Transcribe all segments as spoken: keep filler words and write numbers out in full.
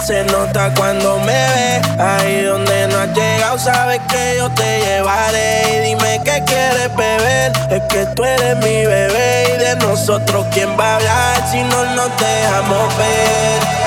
se nota cuando me ves. Ahí donde no has llegado, sabes que yo te llevaré. Y dime qué quieres beber, es que tú eres mi bebé. Y de nosotros, ¿quién va a hablar si no nos dejamos ver?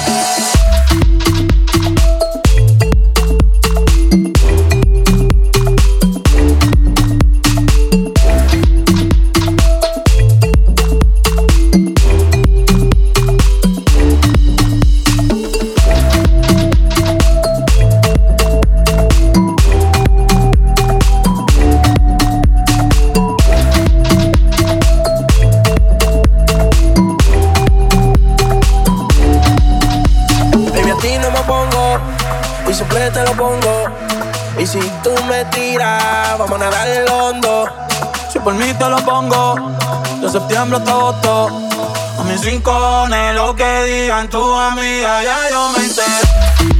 Siempre te lo pongo. Y si tú me tiras, vamos a nadar el hondo. Si por mí te lo pongo, de septiembre hasta agosto. A mis rincones, lo que digan tus amigas, ya yo me enteré.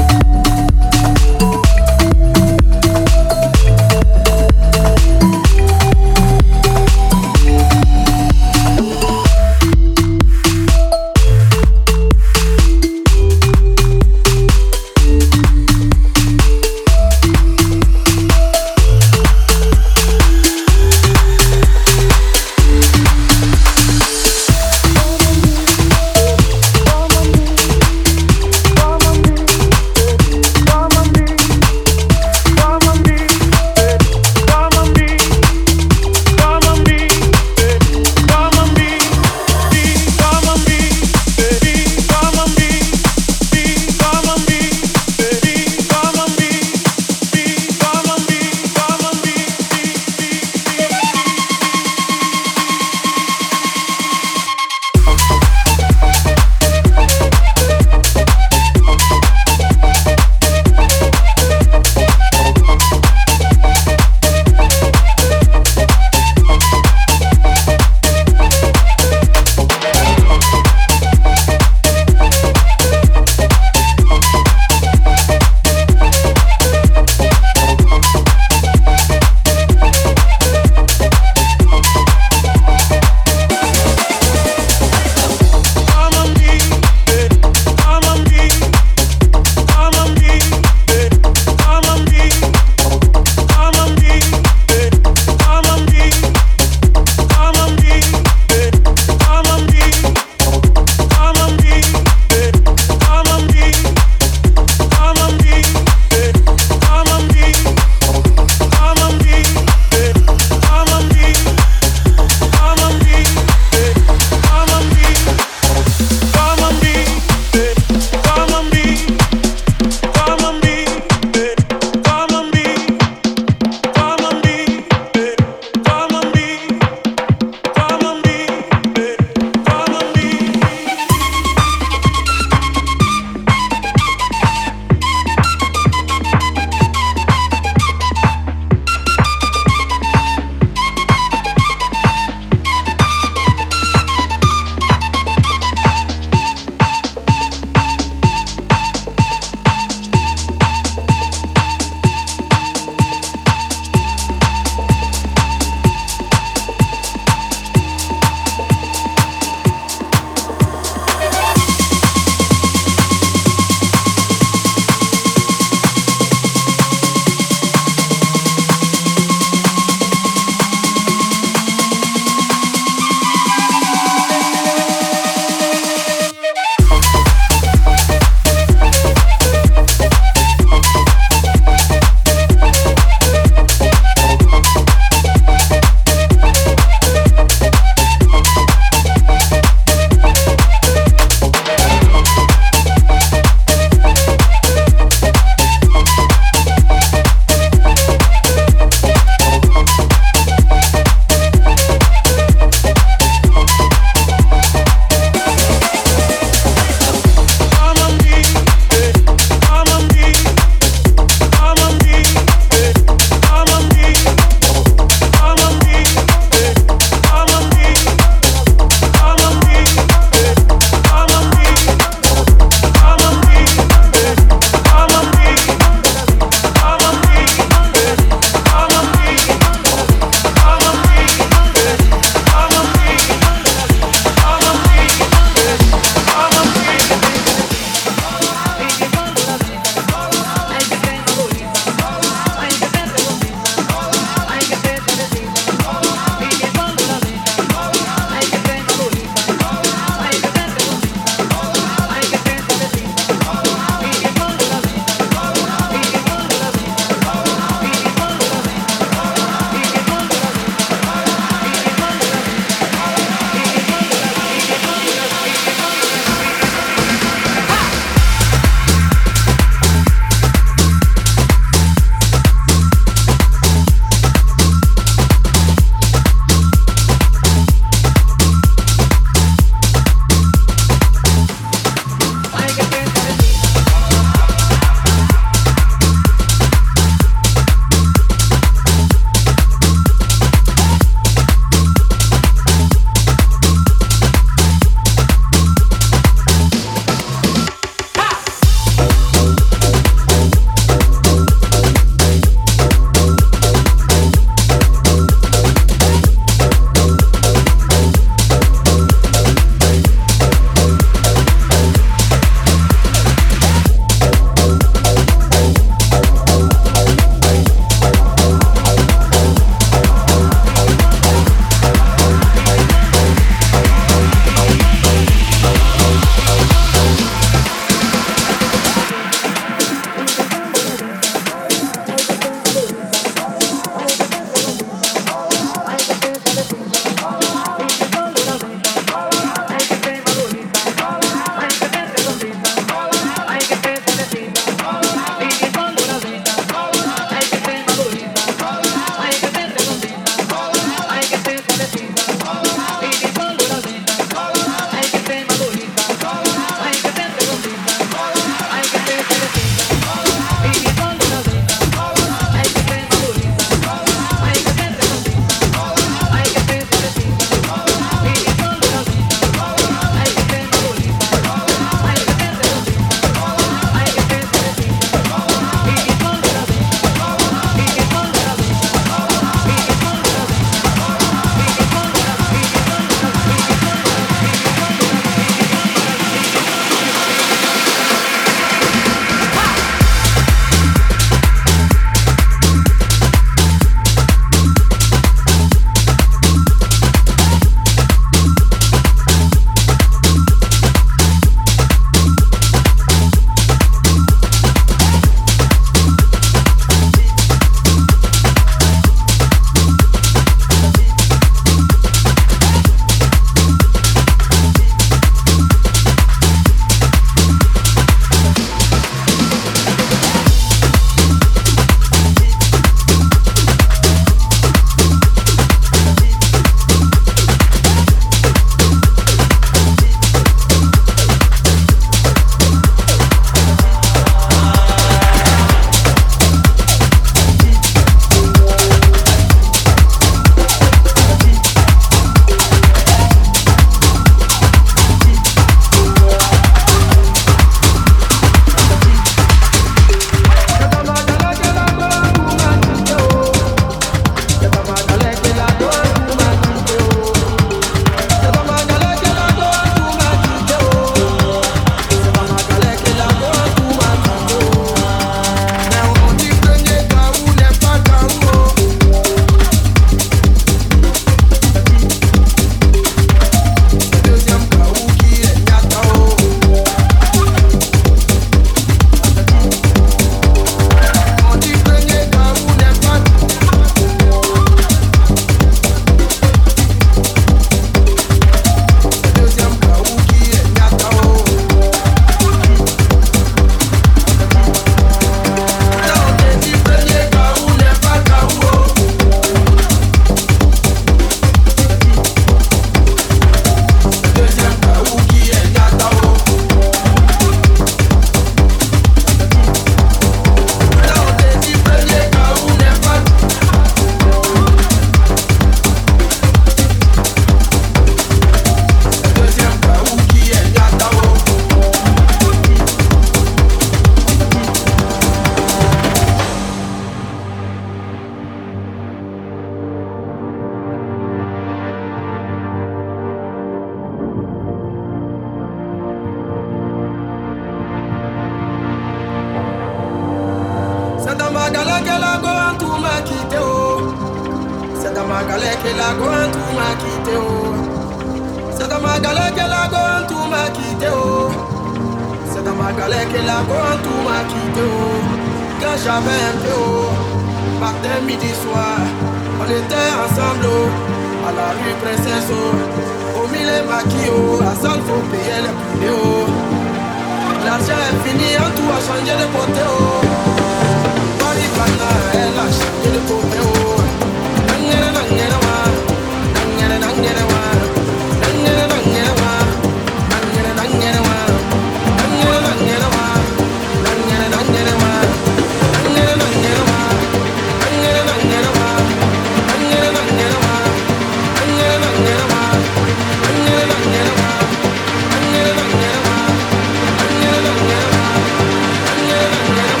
dans ma galère qu'elle a go tout m'a quitté oh. C'est dans ma galère qu'elle a go tout m'a quitté oh. C'est dans ma galère qu'elle a go tout m'a quitté oh. C'est dans ma galère qu'elle a go tout m'a quitté oh. Quand j'avais un peu oh, matin, midi, soir, on était ensemble oh, à la rue Princesse oh. Au milieu maquis oh, à salle faut payer les prix oh. L'argent est fini, en tout a changé de côté oh. Paris Bana, elle a changé de côté oh. Nangere nangere wa, nangere nangere wa, nangere nangere wa, nangere nangere wa, nangere nangere wa, nangere nangere wa, nangere nangere wa, nangere nangere wa, nangere nangere wa, nangere nangere wa, nangere nangere wa, nangere nangere wa.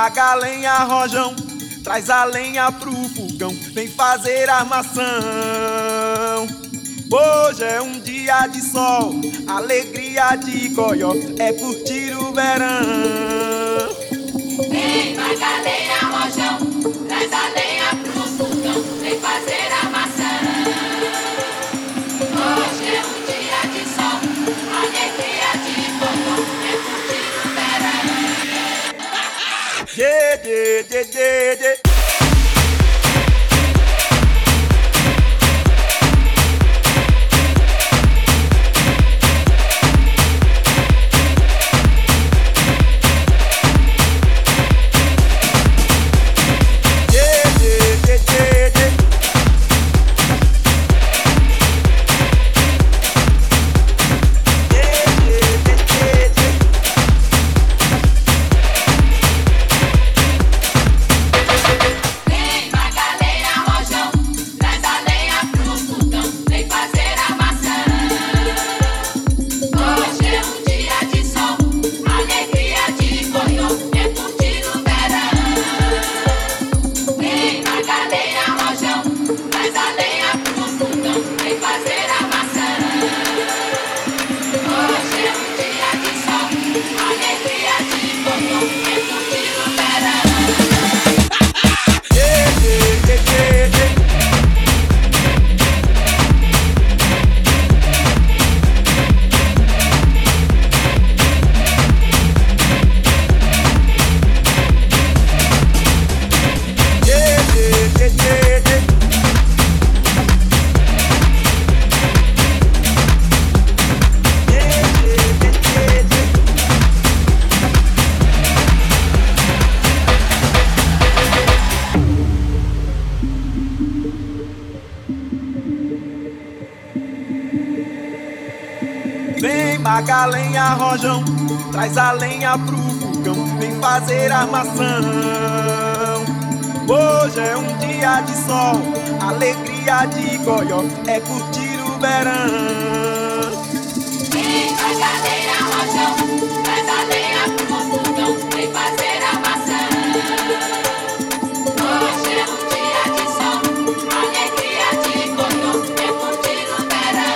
paga a lenha, rojão, traz a lenha pro fogão, vem fazer armação. Hoje é um dia de sol, alegria de goió, é curtir o verão. Vem, paga a lenha, rojão, traz a lenha pro fogão, vem fazer armação. Hoje é um dia de sol, alegria de goió, é curtir o verão. Yeah, yeah, yeah, yeah, yeah. Vem, paga a lenha, rojão, traz a lenha pro fogão, vem fazer armação. Hoje é um dia de sol, alegria de goió, é curtir o verão. Vem, paga a lenha, rojão, traz a lenha pro fogão, vem fazer armação. Hoje é um dia de sol, alegria de goió, é curtir o verão.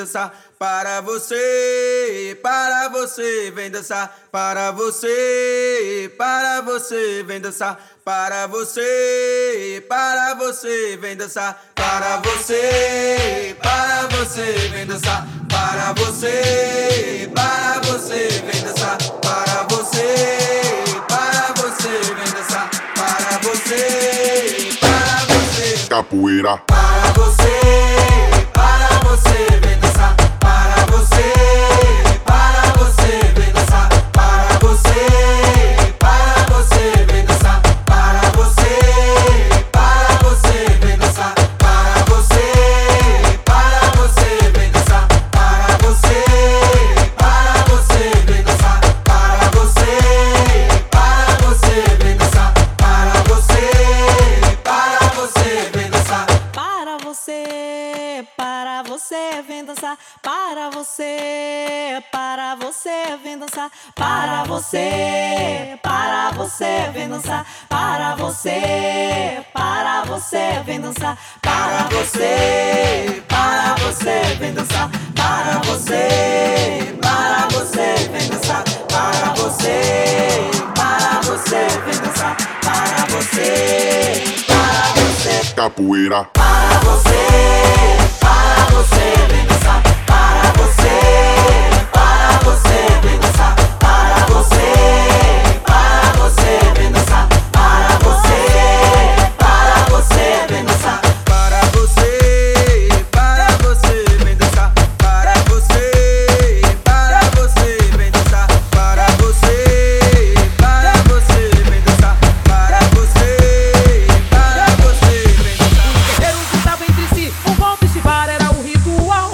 dançar para você, para você, vem dançar para você, para você, vem dançar para você, para você, vem dançar para você, para você, vem dançar para você, para você, vem dançar para você, para você, vem dançar para você, para você, capoeira. Para você, para você, vem dançar para você, para você, vem dançar para você, para você, vem dançar para você, para você, vem dançar para você, para você, vem dançar para você, para você, vem dançar para você, para você, vem dançar para você, para você, vem dançar para você, para você, vem dançar para você, para você, vem dançar para você, para você, vem dançar para você, para você, vem dançar para você, para você, vem dançar para você, para você, vem dançar para você, para você, vem dançar para você, para você, capoeira. para você, para você, vem dançar para você, para você, vem dançar para você, para você, vem dançar para você, para você, vem dançar para você, para você, vem dançar para você, para você, vem dançar para você, para você, vem dançar para você, para você, vem dançar. Os guerreiros estavam entre si, um golpe estivar era o ritual.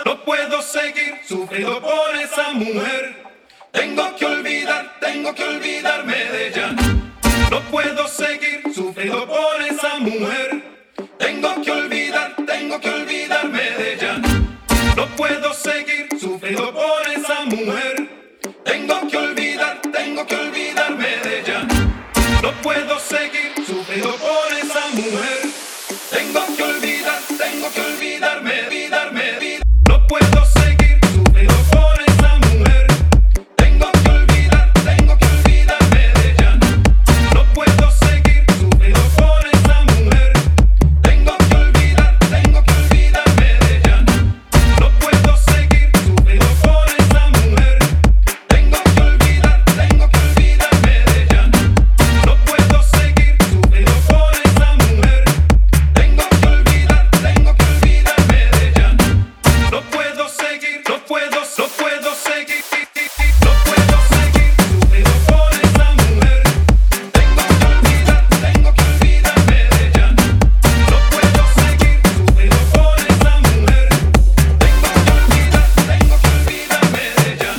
No puedo seguir sufriendo por esa mujer. Tengo que olvidar, tengo que olvidarme de ella. No puedo seguir sufriendo por esa mujer. Tengo que olvidar, tengo que olvidarme de ella. No puedo seguir sufriendo por esa mujer. Tengo que olvidar, tengo que olvidarme de ella. No puedo seguir sufriendo por esa mujer. Tengo que olvidar, tengo que olvidarme, olvidarme, olvidarme. No puedo seguir sufriendo por esa mujer. Tengo que olvidar, tengo que olvidarme de ella. No puedo seguir sufriendo por esa mujer. Tengo que olvidar, tengo que olvidarme de ella. No puedo seguir sufriendo por esa mujer. Tengo que olvidar, tengo que olvidarme de ella. No puedo seguir sufriendo por esa mujer. Tengo que olvidar, tengo que olvidarme de ella. No puedo seguir, no puedo, no puedo seguir. No puedo seguir sufriendo por esa mujer. Tengo que olvidar, tengo que olvidarme de ella. No puedo seguir sufriendo por esa mujer. Tengo que olvidar, tengo que olvidarme de ella.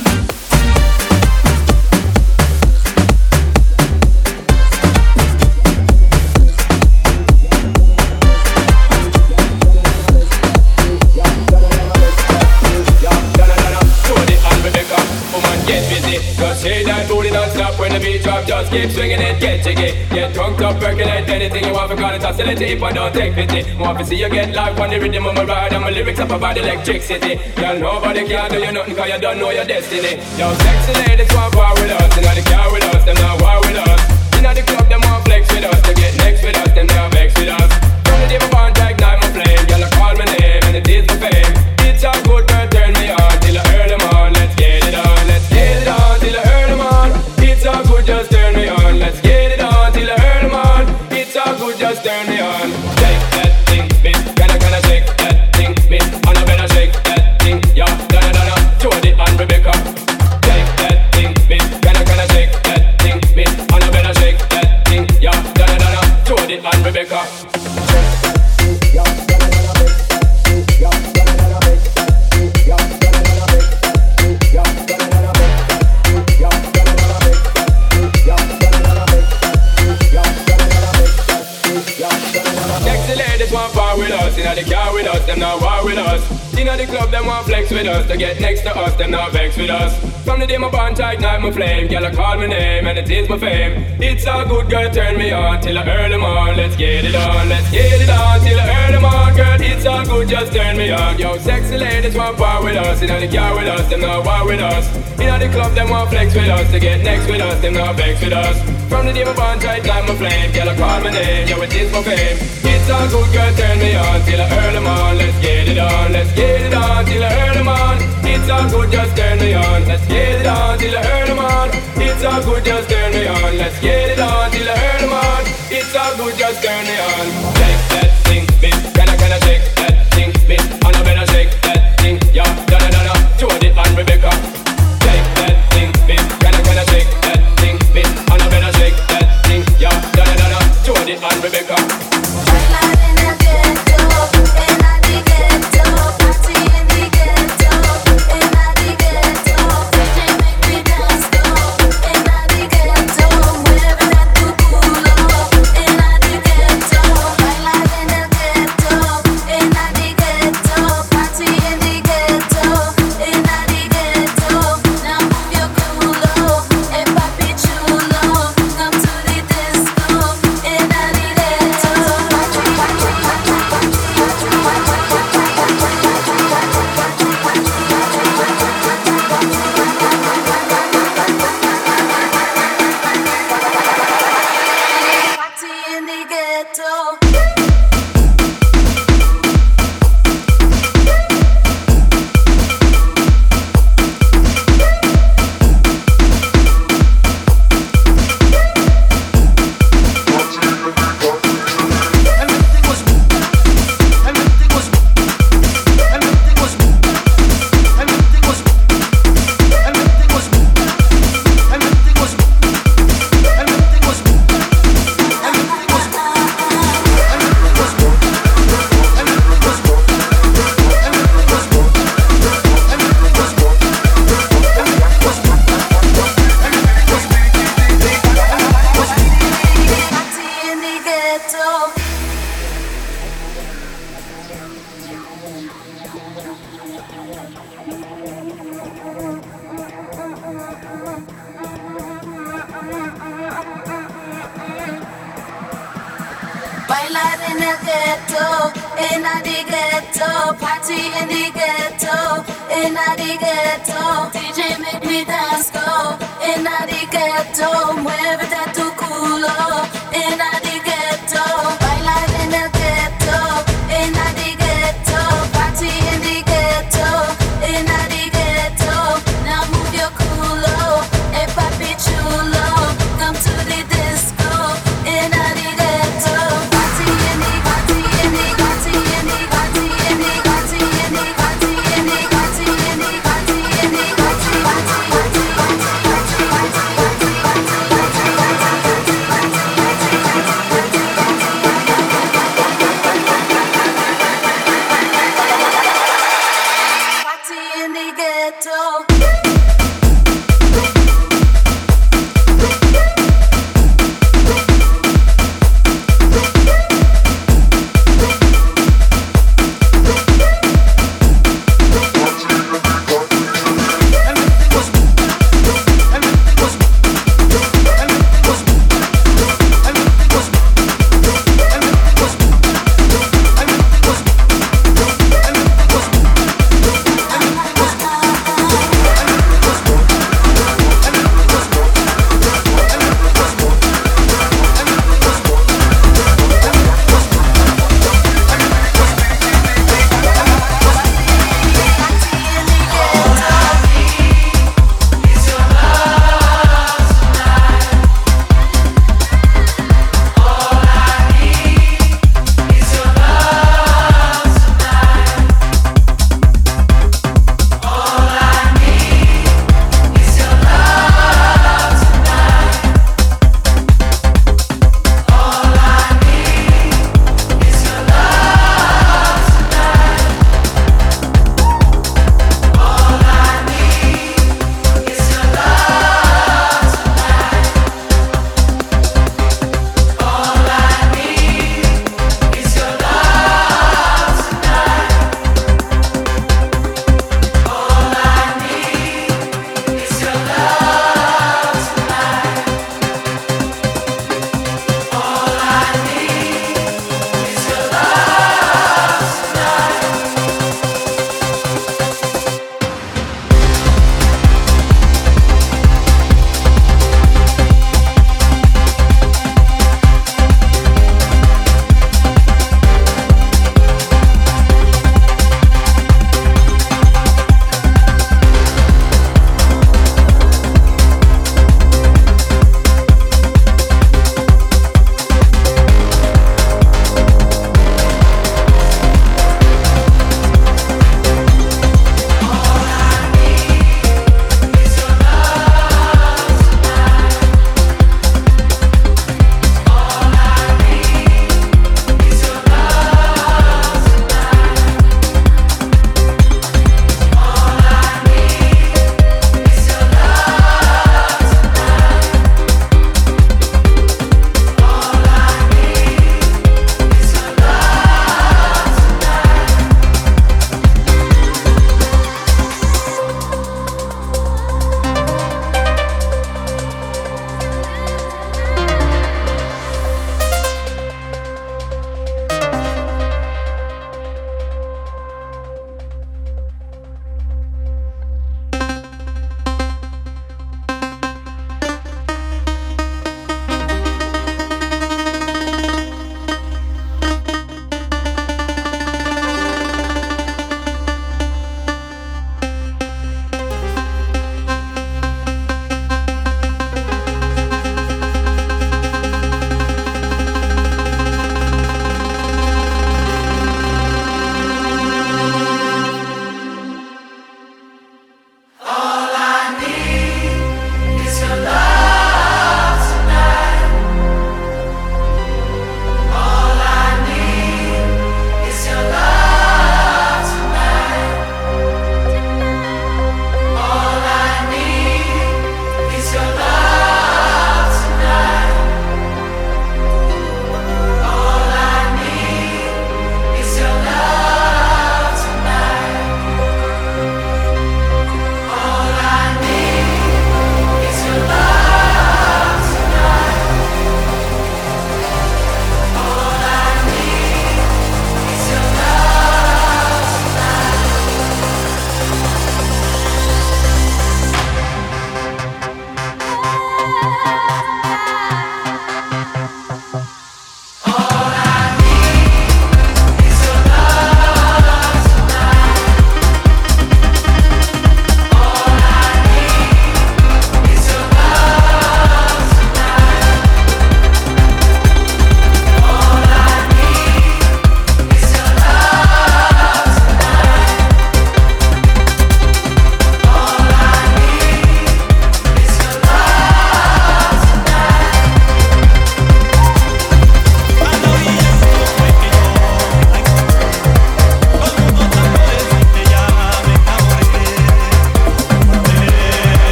Tony and Rebecca, woman get busy. Just shake that booty non-stop when the beat drop. Just keep swinging it, get jiggy. Get drunk up, percolate anything you want. Forgot it, oscillate if I don't take pity. Want to see you get live on the rhythm of my ride. And my lyrics up about electricity. Girl, nobody can do you nothing cause you don't know your destiny. Yo, sexy ladies want war with us. Inna the car with us, them not war with us. Inna the club, them want flex with us. To get next with us, them not vex with us. From the day my bond, I ignite my flame. Girl, I call my name and it is my fame. It's a good girl, turn me on till I earn them on. Let's get it on, let's get it on till I earn them on. It's all good, just turn me on. Let's get it on till I earn them on. It's all good, just turn me on. Shake that thing, miss. Can I, can I shake that thing, miss? And I better shake that thing, yeah. Donna, Donna, Jody and Rebecca. Shake that thing, miss. Can I, can I shake that thing, miss? And I better shake that thing, yeah. Donna, Donna, Jody and Rebecca. Sexy ladies want power with us. Inna the car with us, them not war with us. Inna the club, them want flex with us. To get next to us, them not vex with us. From the day my bond, I ignite my flame. Girl, I call my name and it is my fame. It's all good, girl, turn me on till I earn them on. Let's get it on, let's get it on till I earn them on. Girl, it's all good, just turn me on. Yo, sexy ladies want power with us. Inna the car with us, them not war with us. Inna the club, them want flex with us. To get next with us, them not vex with us. From the day my bond, I ignite my flame. Girl, I call my name, yo, it is my fame. It's all good, girl, turn me on till I earn them on. Let's get it on, let's get it on till I earn them on. It's all good, just turn me on. Let's get it on till I earn them on. It's all good, just turn me on. Let's get it on till I earn them on. It's all good, just turn me on. Shake that thing, miss. Can I, can I shake that thing, miss? And I better shake that thing, yeah. Donna, Donna, Jody and Rebecca. Shake that thing, miss. Can I, can I shake that thing, miss? And I better shake that thing, yeah. Donna, Donna, Jody and Rebecca. Party in the ghetto, Bailar en el ghetto, in the ghetto, party in the ghetto, in the ghetto. D J make me dance go, in the ghetto, muévete tu culo, in the ghetto. Bailar en el ghetto, in the ghetto, party in the ghetto, in the ghetto. Now move your culo, eh papi chulo, come to the disco, in the ghetto. Party in the party in the party in the party in the party in the party in the party in the party in the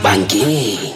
Bangini.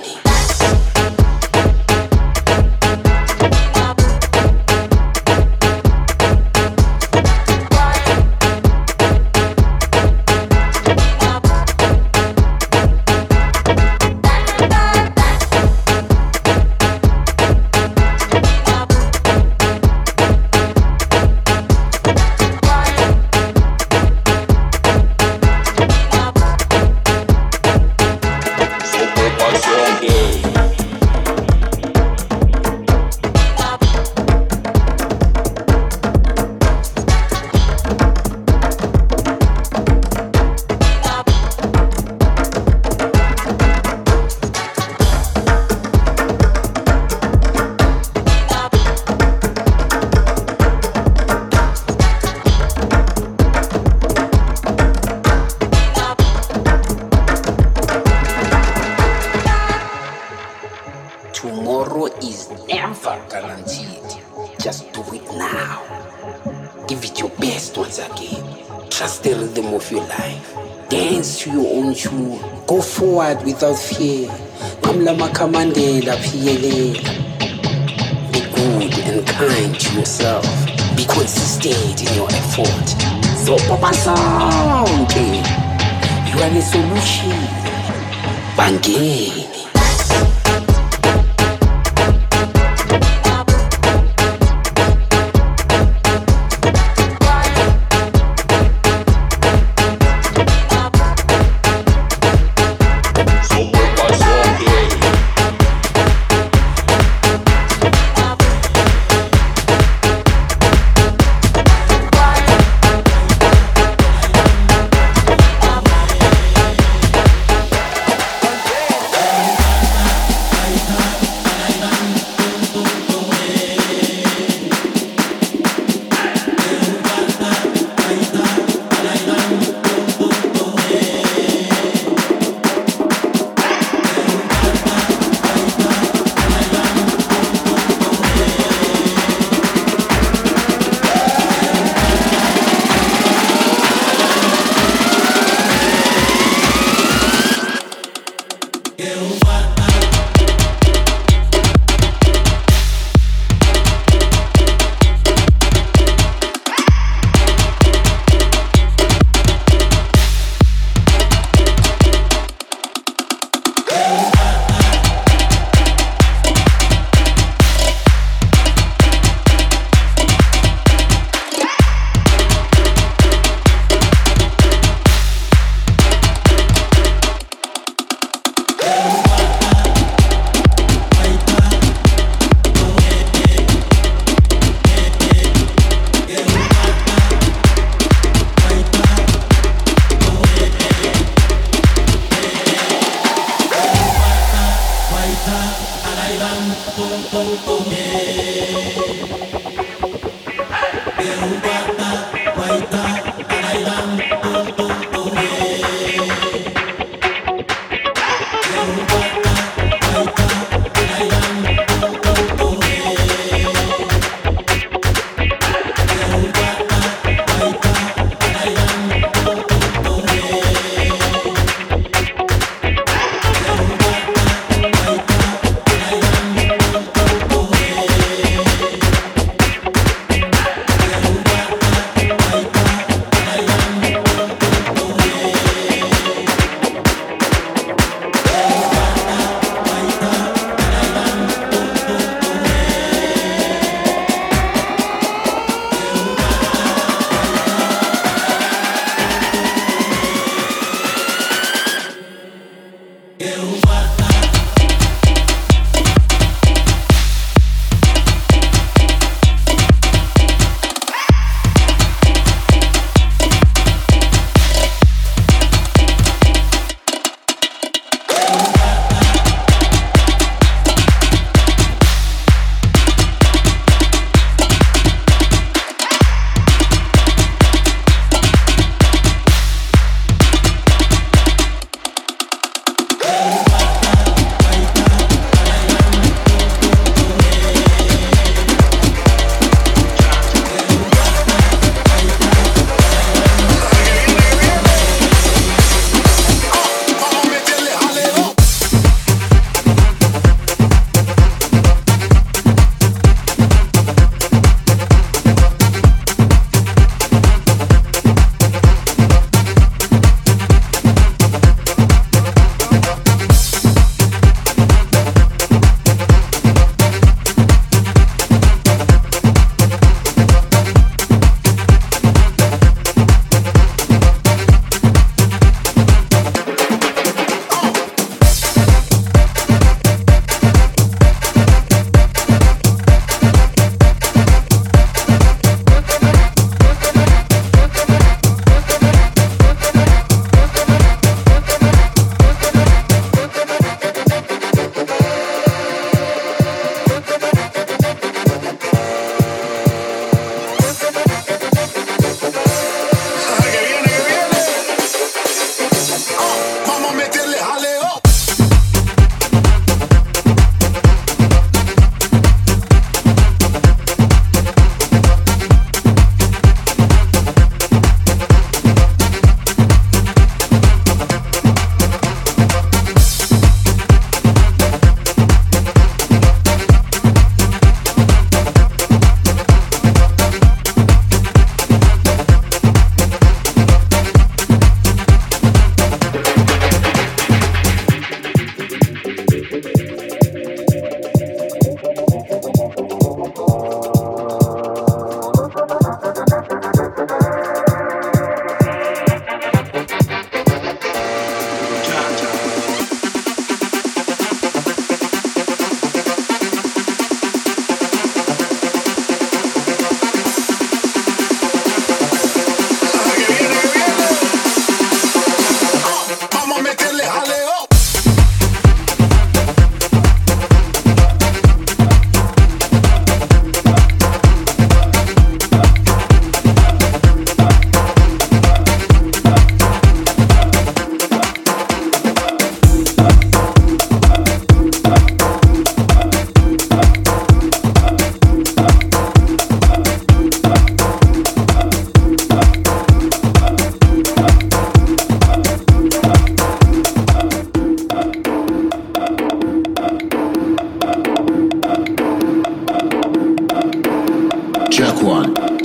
Tomorrow is never guaranteed. Just do it now. Give it your best once again. Trust the rhythm of your life. Dance to your own tune. Go forward without fear. Mamla Mandela Pielela. Be good and kind to yourself. Be consistent in your effort. So Papa Sound, you are the solution. Bangini.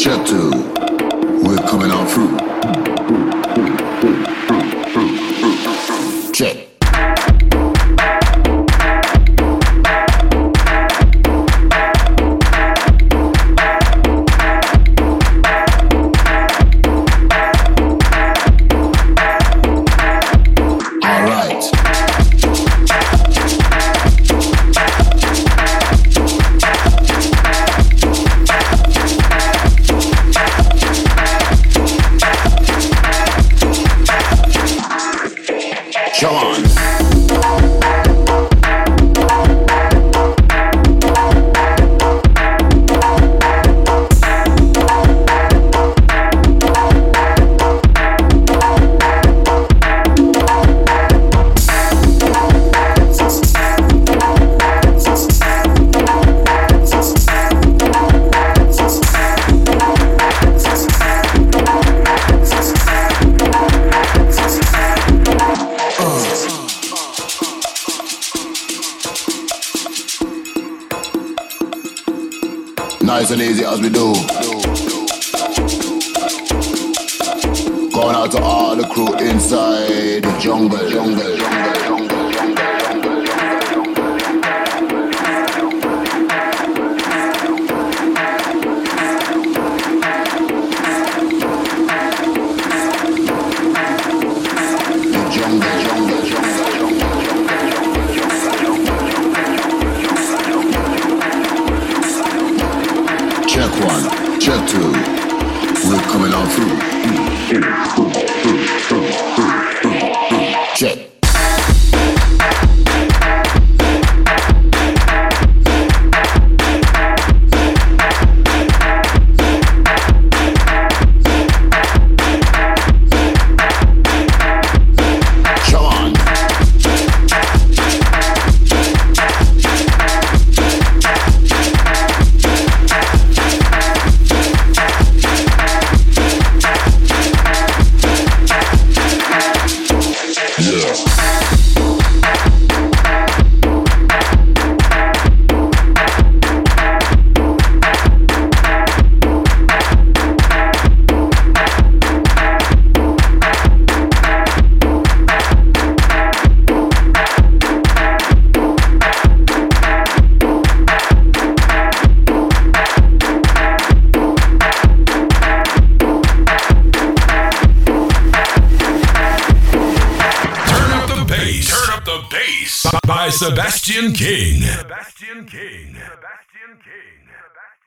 check two. We're coming on through. Check. Nice and easy as we do. Going out to all the crew inside the jungle, jungle, jungle, jungle. Check one, check two. We're coming on through. Check. By Sebastian King. Sebastian King. Sebastian King.